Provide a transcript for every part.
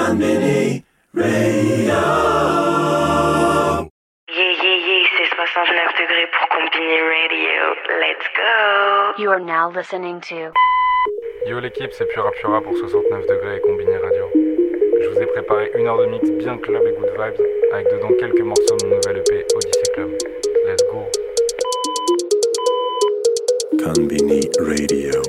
Conbini Radio. C'est 69 degrés pour Conbini Radio. Let's go. You are now listening to... Yo l'équipe, c'est Pura Pura pour 69 degrés et Conbini Radio. Je vous ai préparé une heure de mix bien club et good vibes, avec dedans quelques morceaux de mon nouvel EP Odyssey Club. Let's go. Conbini Radio.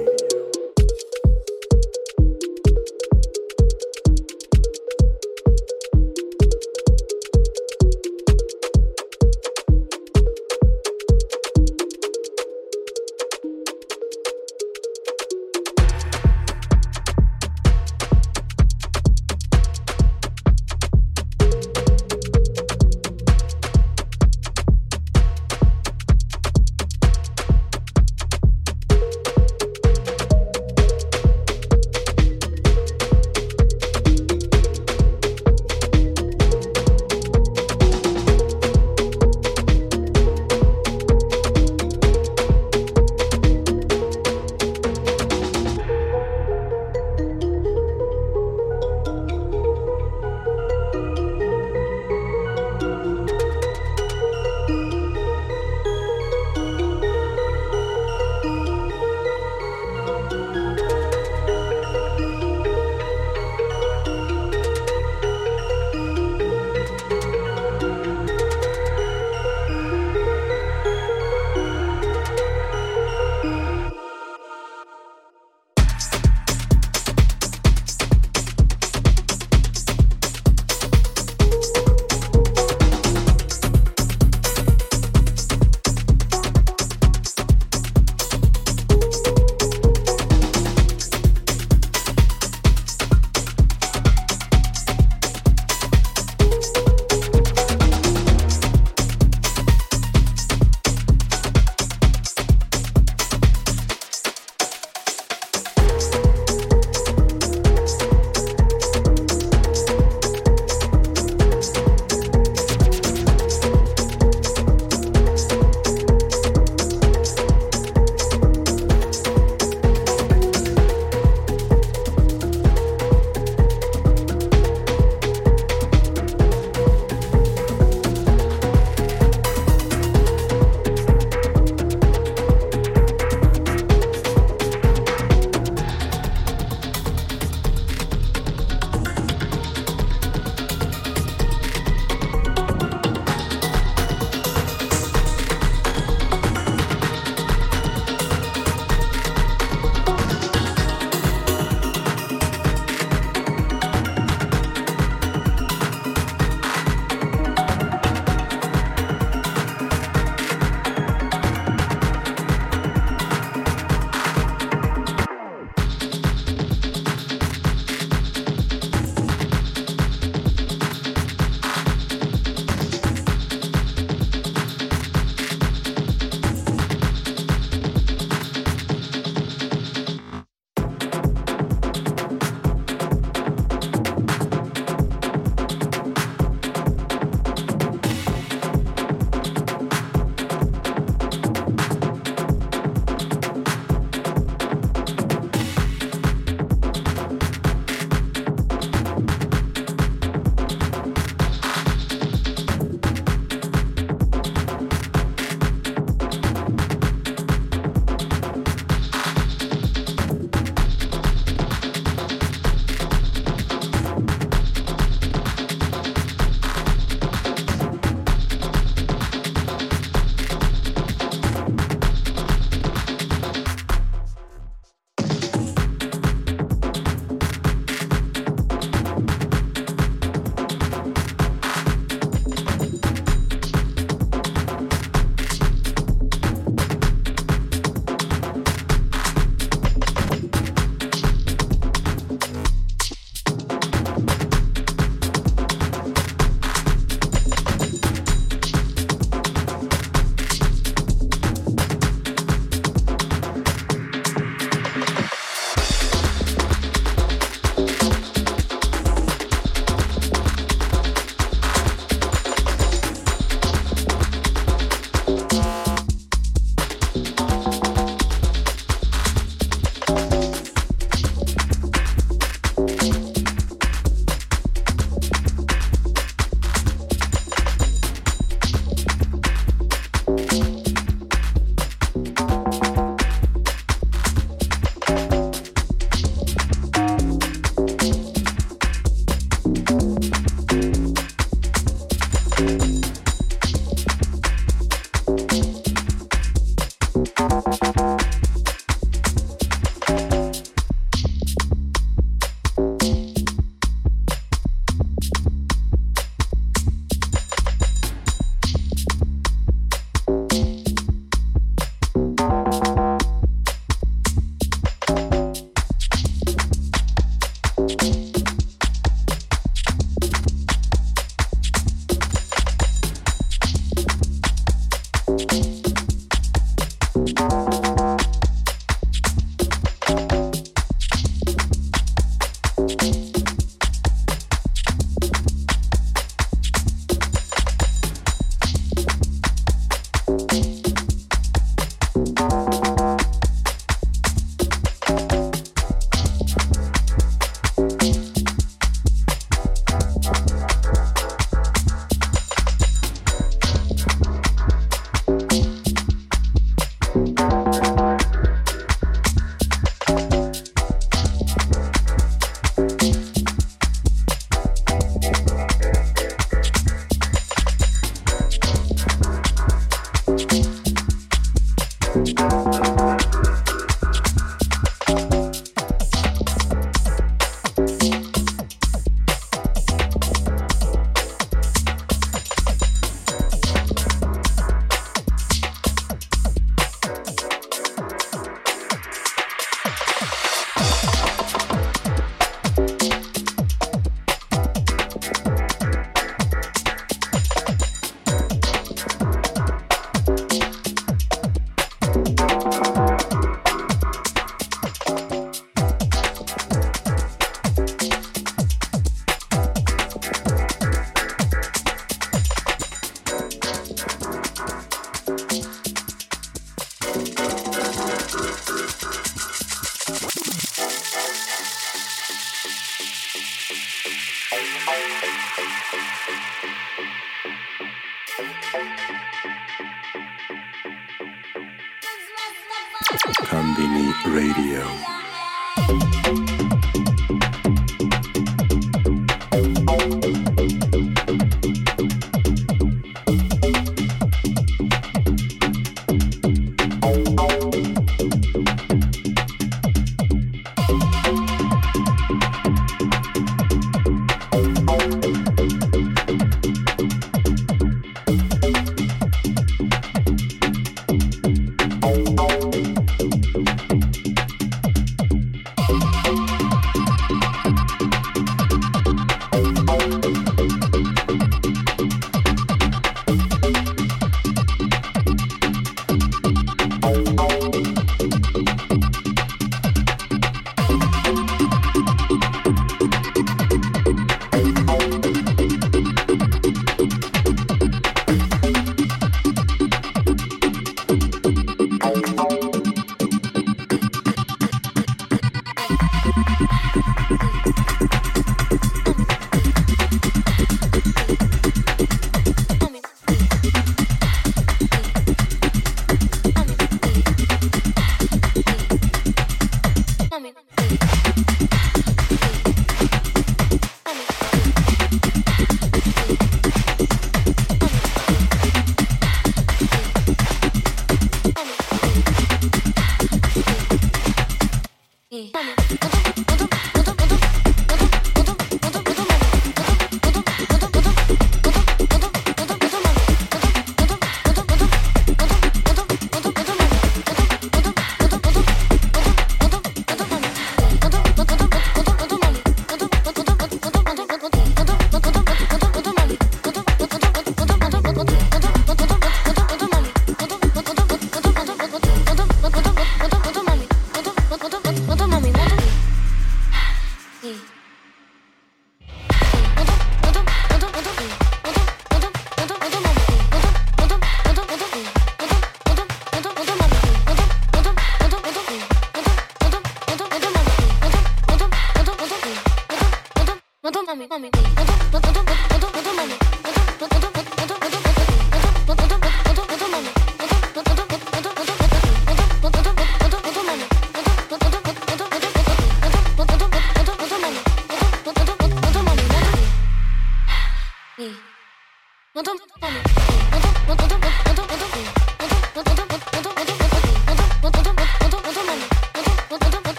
Konbini Radio.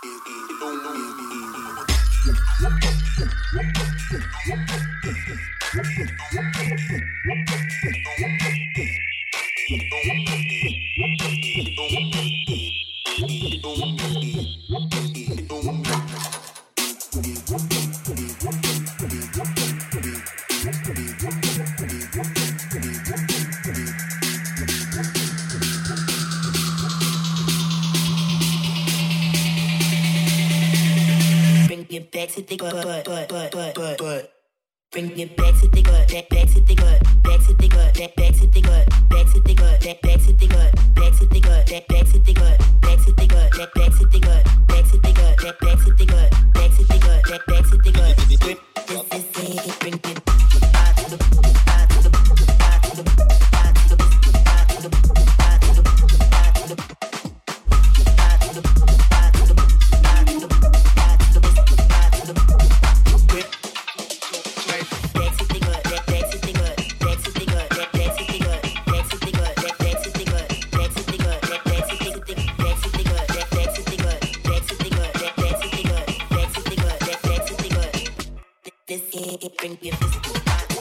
Back to the gut. Bring it back to the gut, back to the gut, back to the gut, back to the gut, back to the gut, back to the gut, back to the gut, back to the gut, back to the gut, back to the gut, back to the gut, back to the gut, back to the gut, back to the gut. This is it. Bring it back to the Bring your physical body.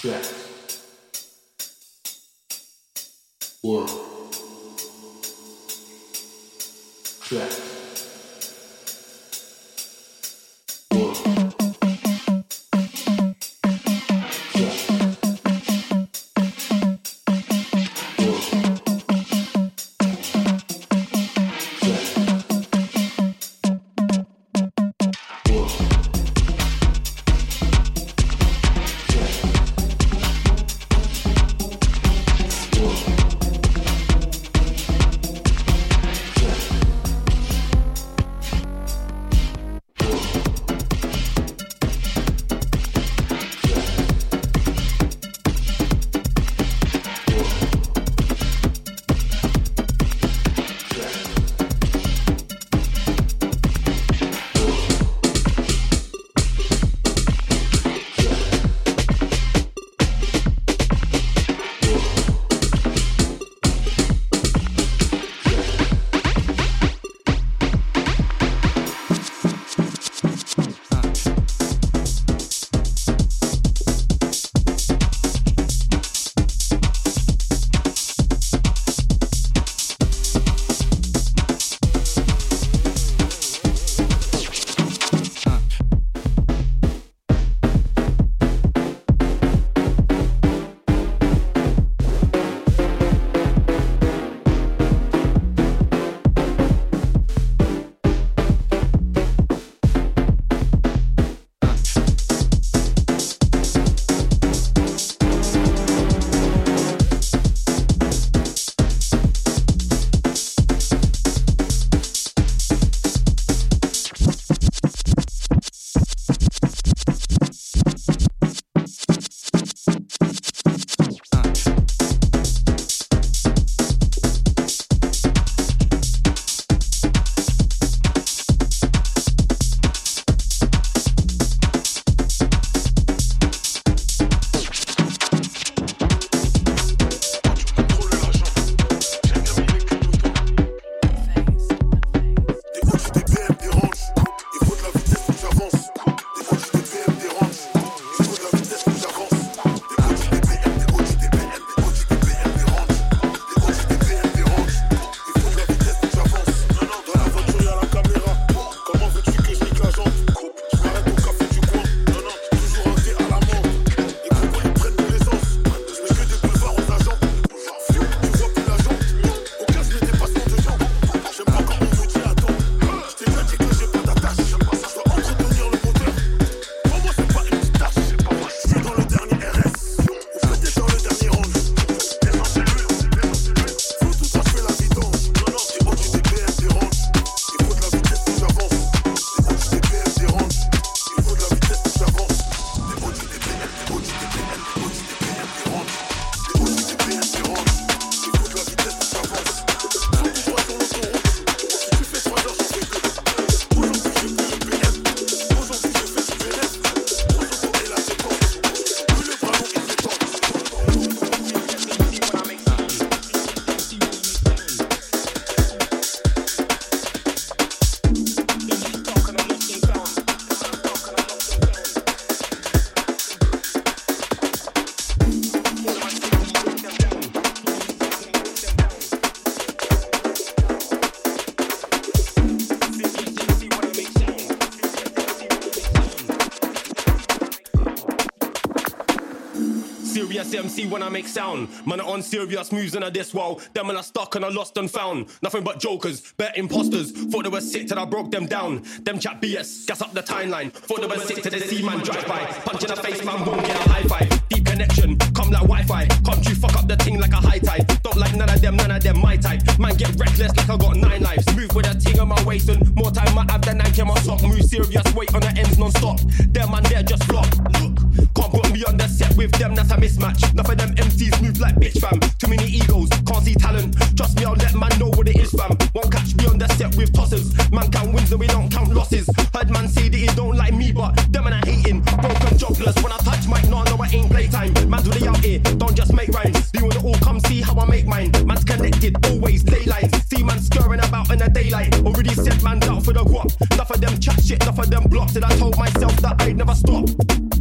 serious MC when I make sound. Man, I'm on serious moves and I this wow. Them when I stuck and I lost and found. Nothing but jokers, bet imposters. Thought they were sick till I broke them down. Them chat BS, gas up the timeline. Thought they were sick till they see man drive by. Punch in the face, man, won't get a high five. Deep connection, come like Wi-Fi. Come you fuck up the thing like a high tide. Don't like none of them, my type. Man, get reckless like I got 9 lives. Move with a ting on my waist and more time I have than I can my sock. Move serious, wait on the ends non-stop. Them man, they're just flop. Look, can't put me on the set with them, that's a mismatch. Enough of them MCs move like bitch fam. Too many egos, can't see talent. Trust me, I'll let man know what it is fam. Won't catch me on the set with tossers. Man count wins and we don't count losses. Heard man say that he don't like me, but them man I hating. Broken jobless, when I touch mic, no, it ain't playtime. Man's really out here, don't just make rhymes. You wanna all come see how I make mine. Man's connected, always daylight. See man scurrying about in the daylight. Already said man's out for the guap. Enough of them chat shit, enough of them blocks. And I told myself that I'd never stop.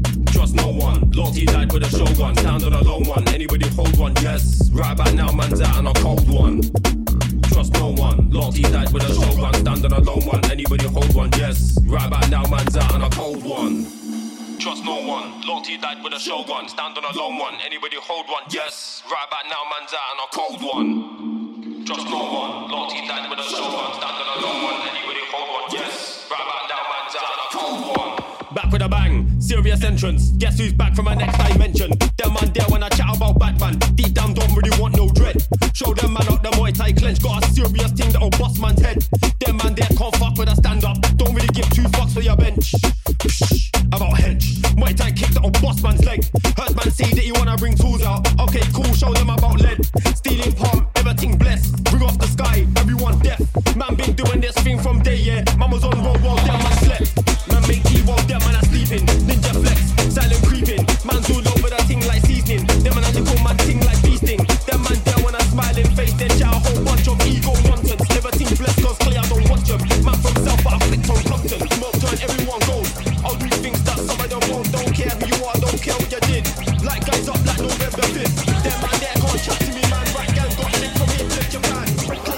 Trust no one. Loyalty died with a shogun. Stand on a lone one. Anybody hold one? Yes. Right about now, man's out on a cold one. Trust no one. Loyalty died with a shogun. Stand on a lone one. Anybody hold one? Yes. Right about now, man's out on a cold one. Trust no one. Loyalty died with a shogun. Stand on a lone one. Anybody hold one? Yes. Right about now, man's out on a cold one. Trust no one. Loyalty died with a shogun. Stand on a lone one. Anybody hold one? Yes. Right about now, man's out on a cold one. Back with a bang. Serious entrance. Guess who's back from my next dimension? Them man there when I chat about Batman. Deep down don't really want no dread. Show them man up the Muay Thai clench. Got a serious thing that'll bust man's head. Them man there can't fuck with a stand up. Don't really give two fucks for your bench. About hench. Muay Thai kick that'll bust man's leg. Heard man say that you wanna bring tools out. Okay, cool, show them about lead. Stealing palm, everything blessed. Bring off the sky, everyone deaf. Man been doing this thing from day, yeah. Man was on road while them man slept. Man make tea while them man are sleeping. Ninja flex, silent creeping. Man's all over the thing like seasoning. Them man a little man thing like beasting. Them man there when a smiling face, then shout a whole bunch of ego nonsense. Everything blessed cause clear, I don't watch them. Man from self, but I flicked on Compton. Smoke turn, everyone goes. I'll do things that some of them won't. Don't care who you are, don't care what you did. Light guys up like November 5th. Them man there can't chat to me, man. Right guys got lit from here to Japan.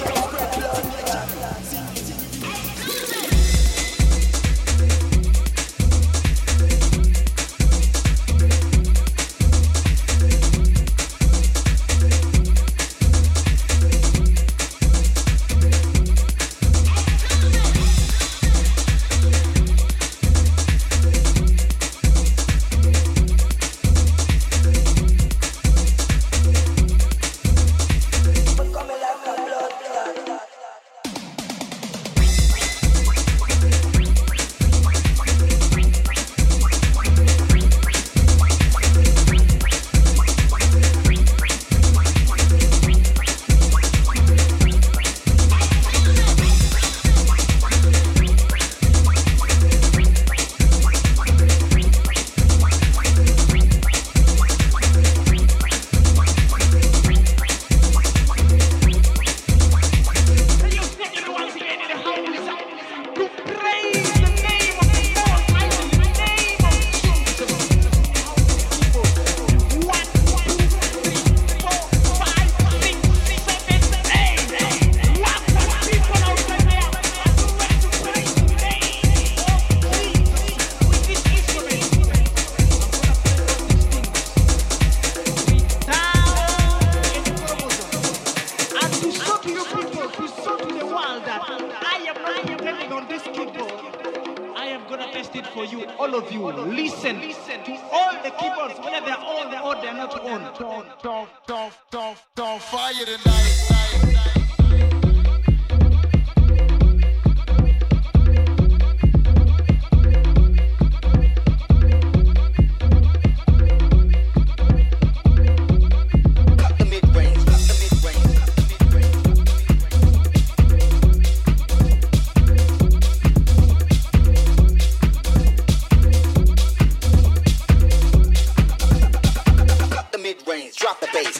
Don't fire tonight. Drop the bass.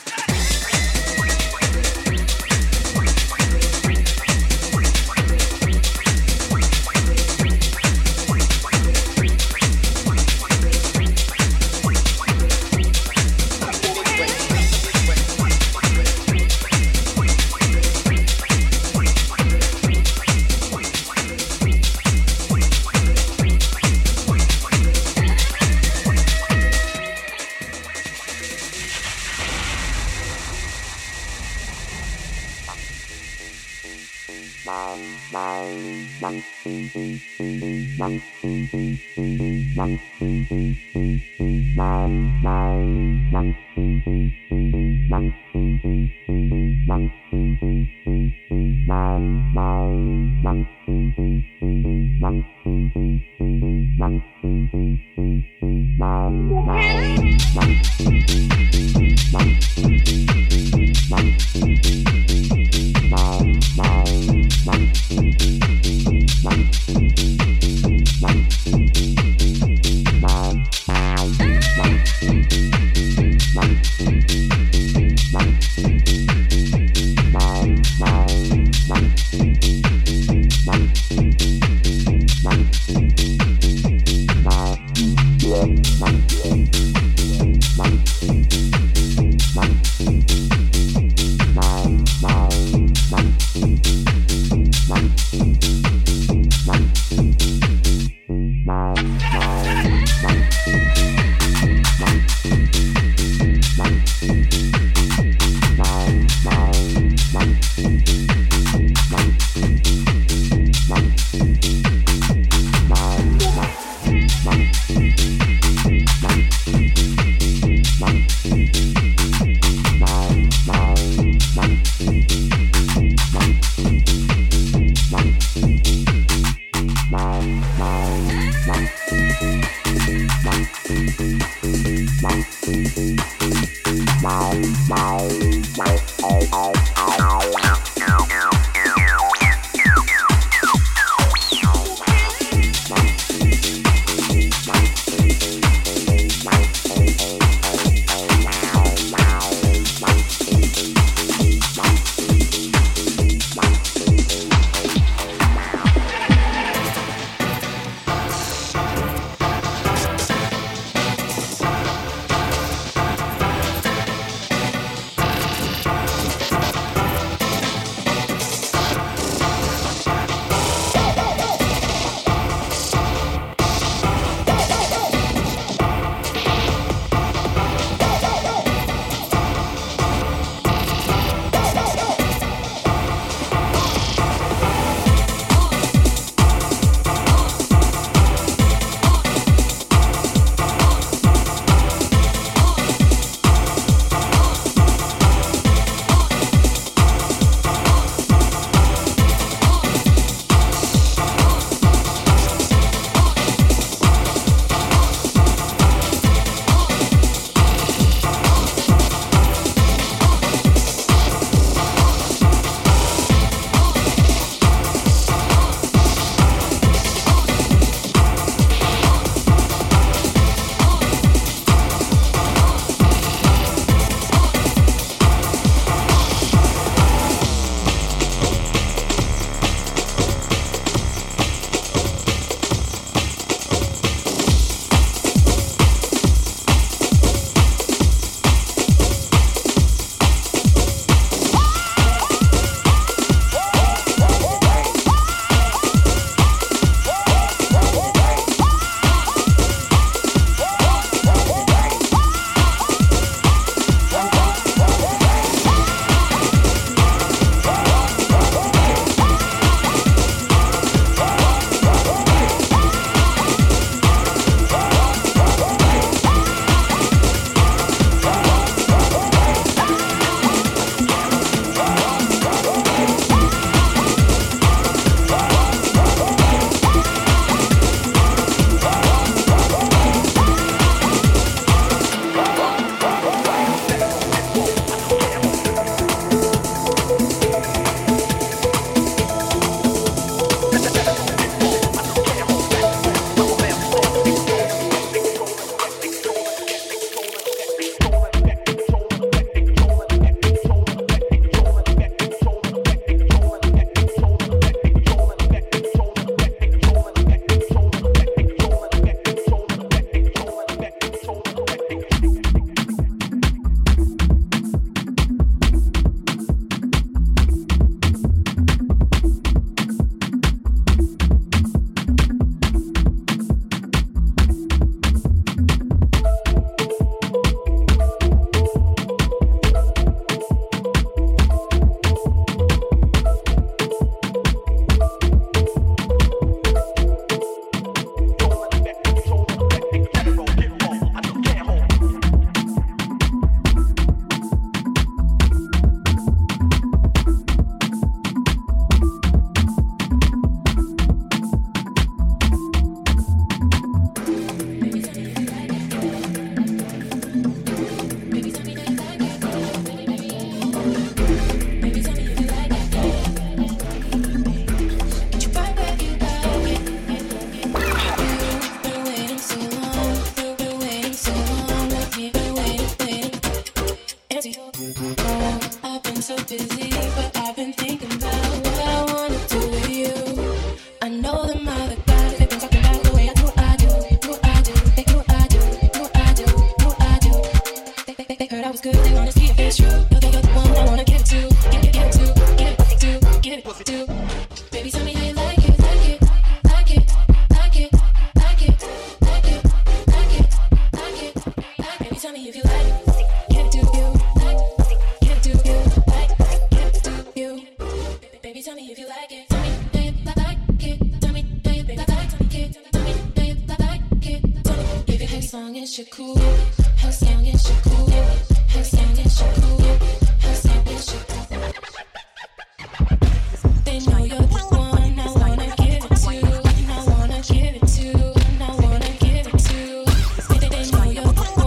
They know you're the one.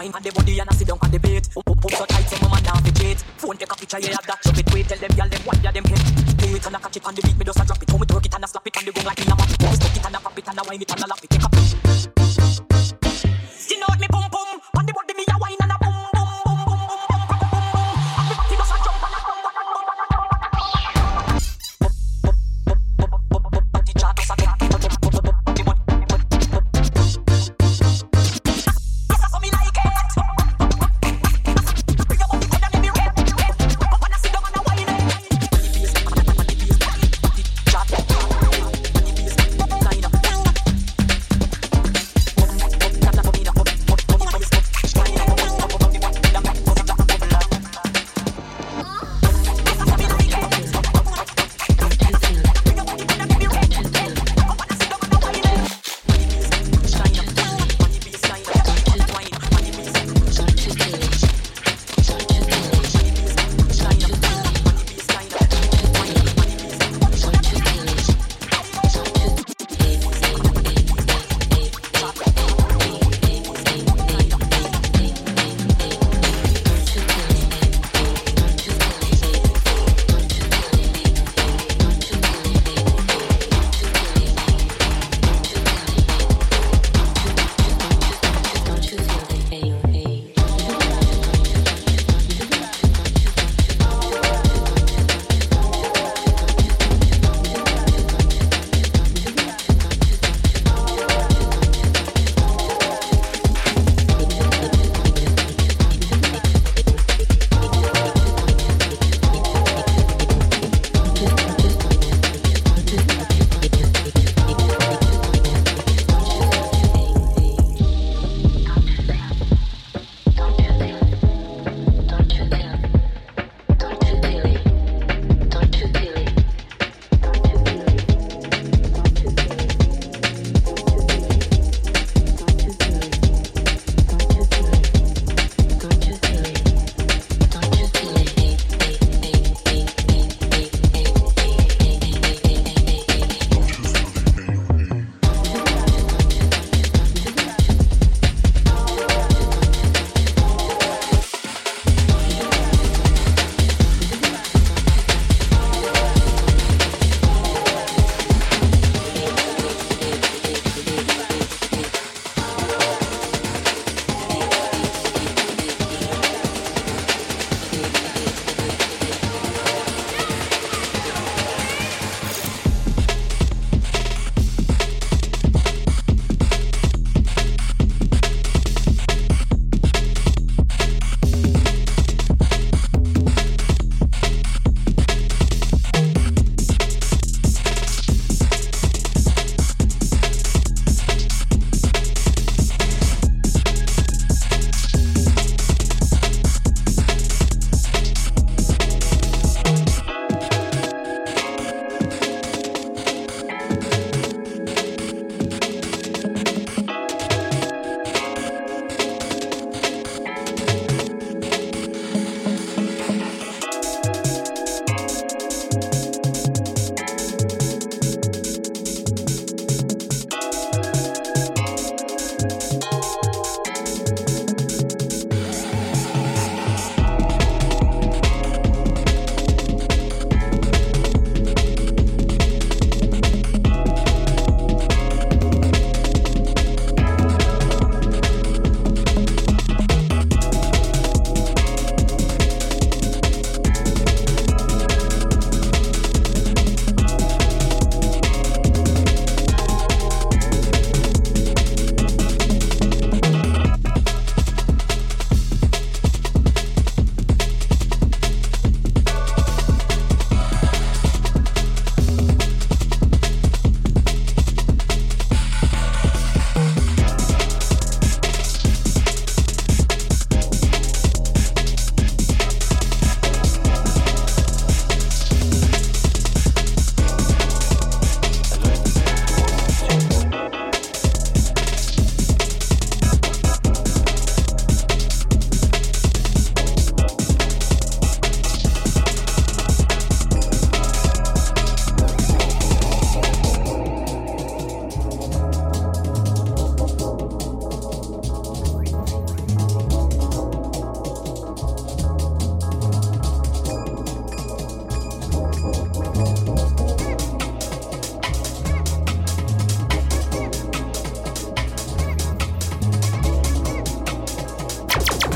wine on the body and I sit down on the beat. Pump so tight, some man now fi cheat. Phone take a picture, yeah, that chop it. Wait, tell them, y'all them what ya them hit. Do it and I catch it on the beat, me just a drop it. How me twerk it and I slap it on the gong like me a map. Stuck it and I pop it and I wine it and I lap it. Take a you know what me pum pum on the body me a wine and a boom boom boom boom boom boom boom boom boom. And me body just a jump and a boom boom boom boom boom. Body chat just a get. Yes, I saw me like it. Bring your body and let me rap. Wanna see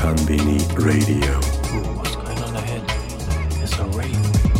Konbini Radio. Ooh, what's going on ahead? It's a rave.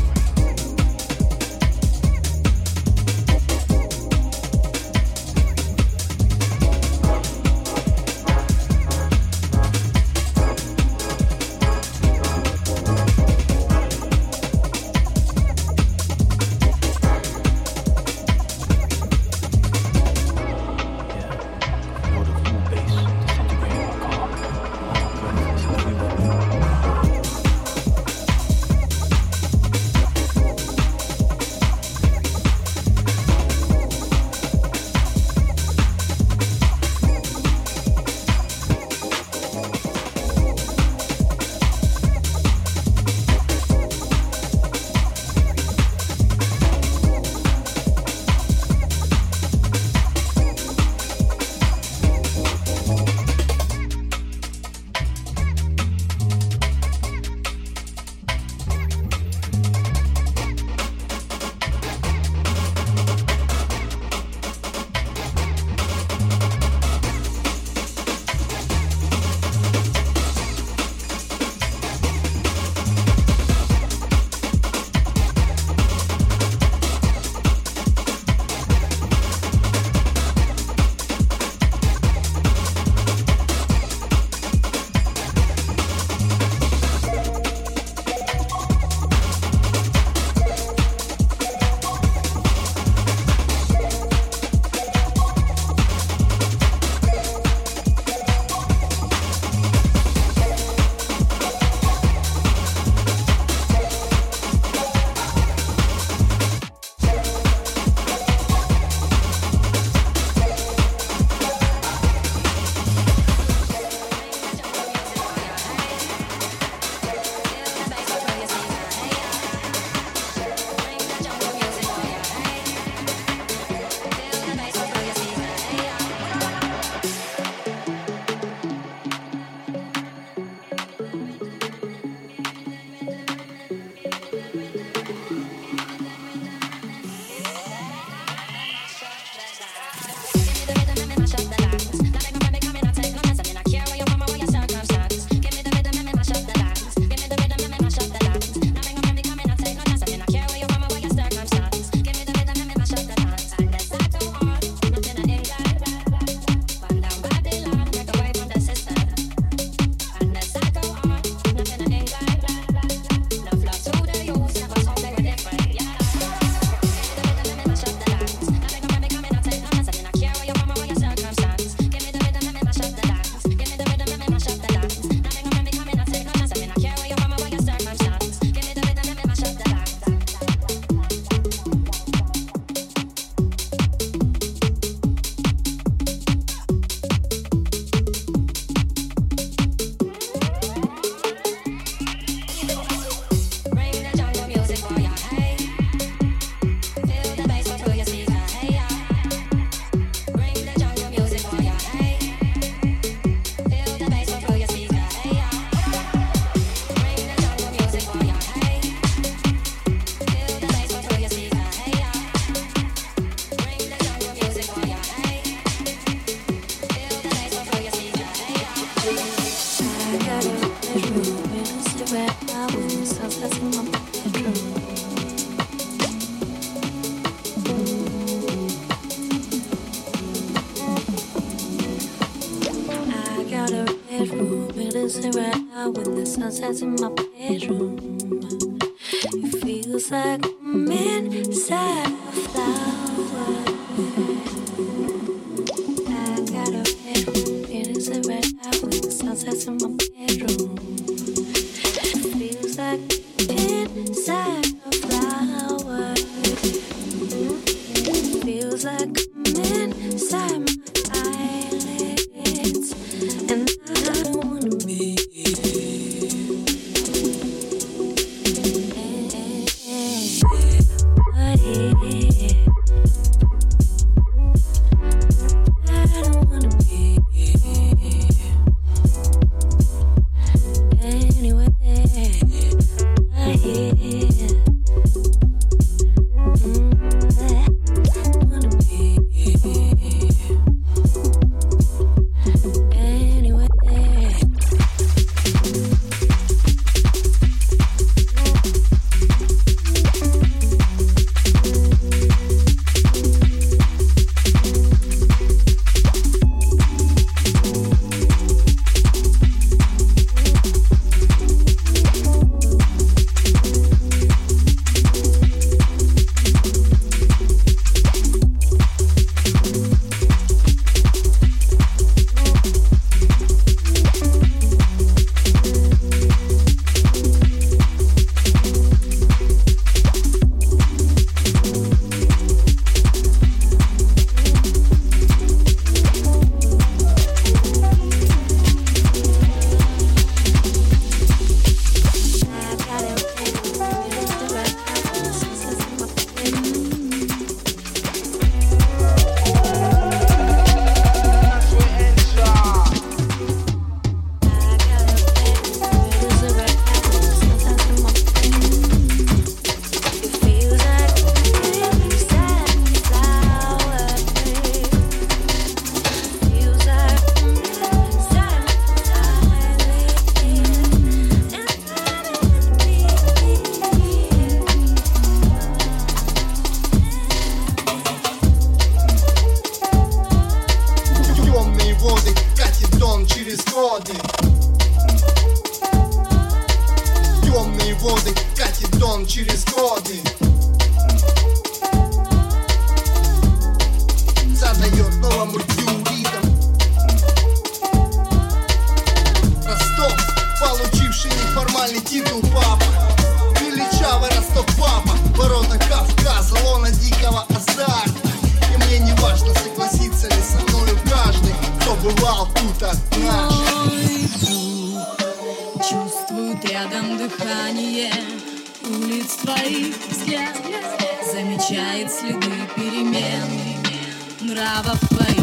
Sunsets in my bedroom. It feels like I'm inside a flower. I got a bedroom, it is a red eye with the sunsets in my bedroom. It feels like I'm inside a flower. It feels like I'm inside my eyelids, and I don't wanna be. I don't wanna be. Мой дух чувствует рядом дыхание улиц твоих взгляд, замечает следы перемен нравов твоих.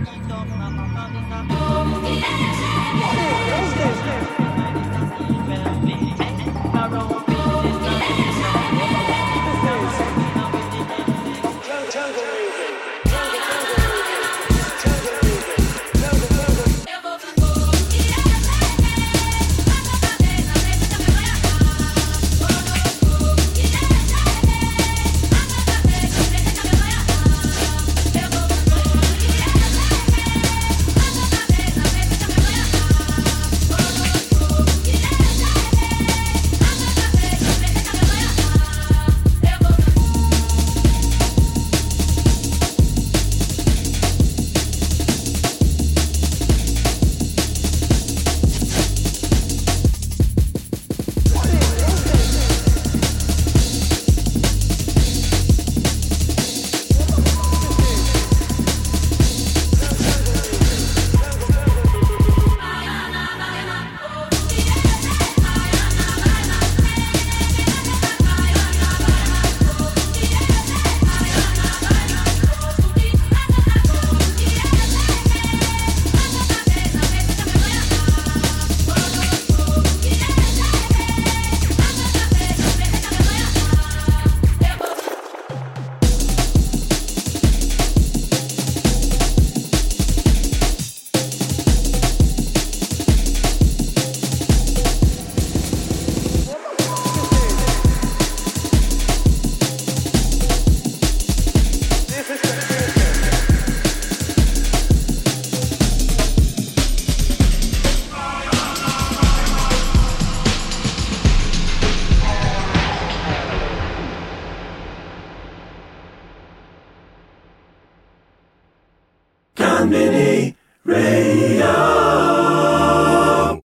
Stop,